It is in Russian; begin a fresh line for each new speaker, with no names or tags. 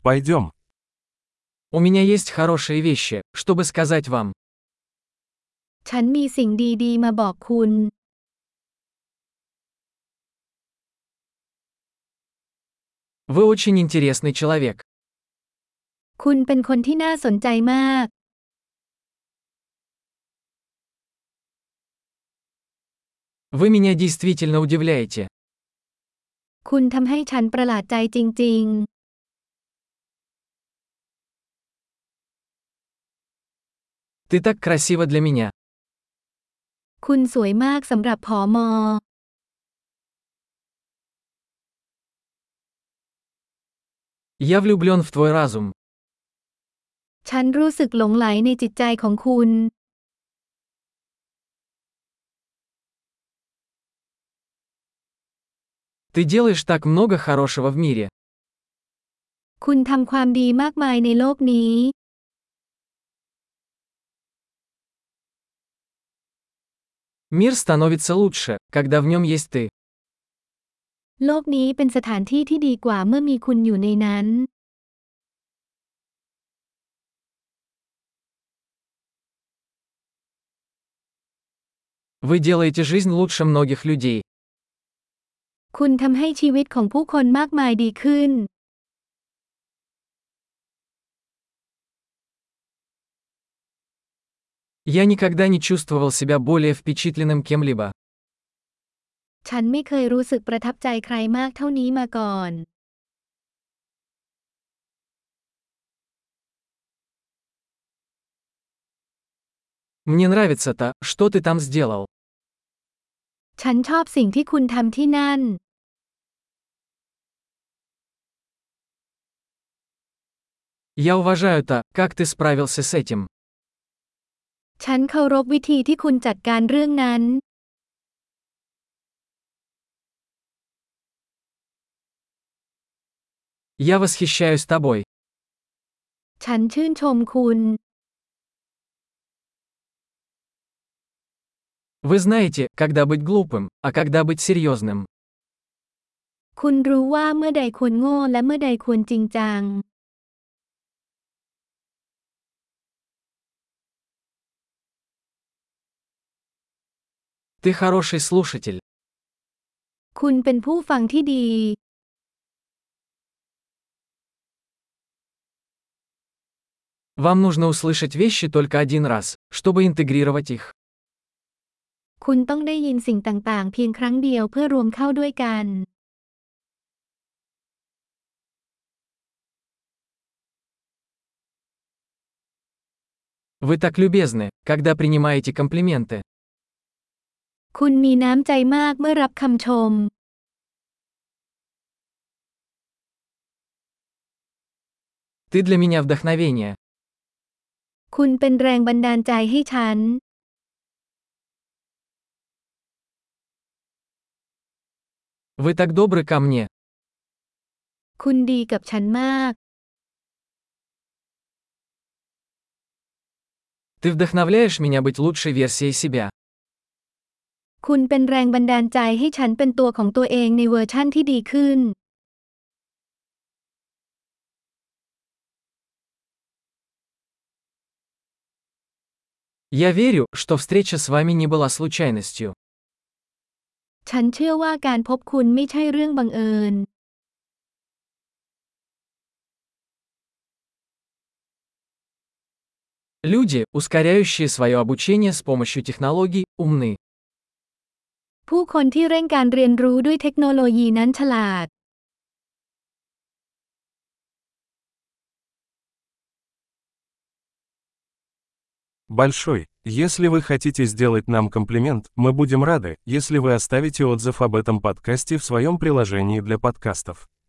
Пойдем.
У меня есть хорошие вещи, чтобы сказать вам.
ฉันมีสิ่งดีๆมาบอกคุณ
Вы очень интересный человек.
คุณเป็นคนที่น่าสนใจมาก
Вы меня действительно удивляете.
คุณทำให้ฉันประหลาดใจจริง
Ты так красива для меня.
ๆ คุณสวยมากสำหรับผอมอ
Я влюблен в твой разум.
ฉันรู้สึกหลงใหลในจิตใจของคุณ
Ты делаешь так много хорошего в мире.
คุณทำความดีมากมายในโลกนี้
Мир становится лучше, когда в нем есть ты.
โลกนี้เป็นสถานที่ที่ดีกว่าเมื่อมีคุณอยู่ในนั้น
Вы делаете жизнь лучше многих людей.
คุณทำให้ชีวิตของผู้คนมากมายดีขึ้น
Я никогда не чувствовал себя более впечатленным кем-либо.
ฉันไม่เคยรู้สึกประทับใจใครมากเท่านี้มาก่อน
Мне нравится то, что ты там сделал.
ฉันชอบสิ่งที่คุณทำที่นั่น
Я уважаю то, как ты справился с этим.
ฉันเคารพวิธีที่คุณจัดการเรื่องนั้น
Я восхищаюсь тобой.
ฉันชื่นชมคุณ
Вы знаете, когда быть глупым, а когда быть серьезным.
คุณรู้ว่าเมื่อใดควรโง่และเมื่อใดควรจริงจัง
Ты хороший слушатель.
คุณเป็นผู้ฟังที่ดี
Вам нужно услышать вещи только один раз, чтобы интегрировать их.
คุณต้องได้ยินสิ่งต่างๆเพียงครั้งเดียวเพื่อรวมเข้าด้วยกัน
Вы так любезны, когда принимаете комплименты.
คุณมีน้ำใจมากเมื่อรับคำชม
Ты для меня вдохновение.
คุณเป็นแรงบันดาลใจให้ฉัน
Вы так добры ко мне.
คุณดีกับฉันมาก
Ты вдохновляешь меня быть лучшей версией себя.
คุณเป็นแรงบันดาลใจให้ฉันเป็นตัวของตัวเองในเวอร์ชั่นที่ดีขึ้น
Я верю, что встреча с вами не была случайностью.
ฉันเชื่อว่าการพบคุณไม่ใช่เรื่องบังเอิญ
Люди, ускоряющие свое обучение с помощью технологий, умны.
ผู้คนที่เร่งการเรียนรู้ด้วยเทคโนโลยีนั้นฉลาด
Большой. Если вы хотите сделать нам комплимент, мы будем рады, если вы оставите отзыв об этом подкасте в своем приложении для подкастов.